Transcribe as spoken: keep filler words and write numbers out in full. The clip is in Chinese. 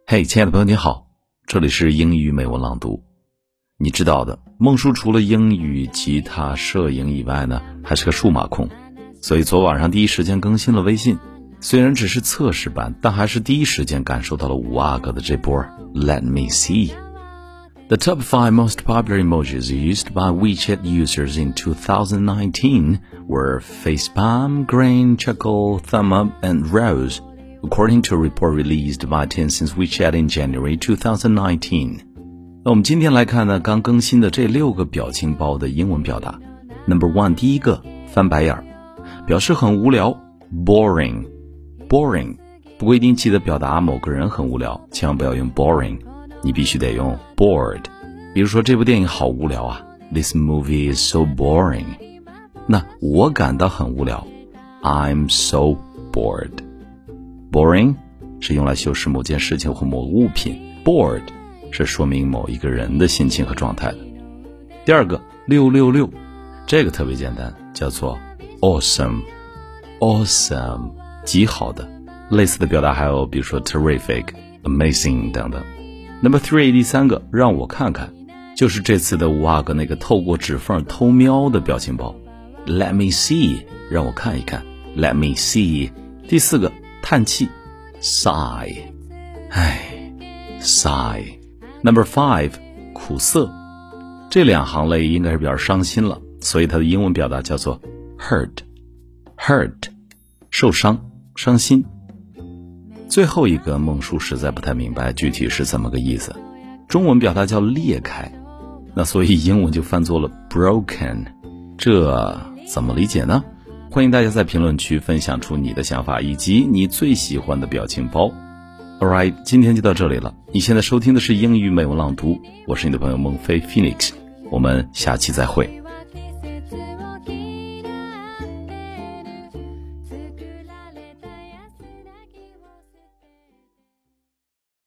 嘿、hey, 亲爱的朋友你好，这里是英语美文朗读。你知道的，孟叔除了英语、吉他、摄影以外呢，还是个数码控，所以昨晚上第一时间更新了微信。虽然只是测试版，但还是第一时间感受到了五阿哥的这波 Let me see. The top five most popular emojis used by WeChat users in two thousand nineteen were facepalm, grin, chuckle, thumb up, and rose.According to a report released by Tencent's WeChat in January twenty nineteen. 那我们今天来看呢，刚更新的这六个表情包的英文表达。Number one， 第一个翻白眼，表示很无聊 ，boring，boring boring。不过一定记得表达某个人很无聊，千万不要用 boring， 你必须得用 bored。比如说这部电影好无聊啊 ，This movie is so boring。那我感到很无聊 ，I'm so bored。Boring 是用来修饰某件事情或某物品 ，bored 是说明某一个人的心情和状态的。第二个六六六，这个特别简单，叫做 awesome，awesome 极好的。类似的表达还有比如说 terrific、amazing 等等。Number three， 第三个让我看看，就是这次的五阿哥那个透过指缝偷瞄的表情包 ，Let me see， 让我看一看 ，Let me see。第四个。叹气 sigh， 唉 sigh。 Number five， 苦涩，这两行泪应该是比较伤心了，所以它的英文表达叫做 hurt hurt 受伤伤心。最后一个孟叔实在不太明白具体是怎么个意思，中文表达叫裂开，那所以英文就翻作了 broken， 这怎么理解呢？欢迎大家在评论区分享出你的想法以及你最喜欢的表情包。Alright， 今天就到这里了。你现在收听的是英语美文朗读，我是你的朋友孟非 Phoenix， 我们下期再会。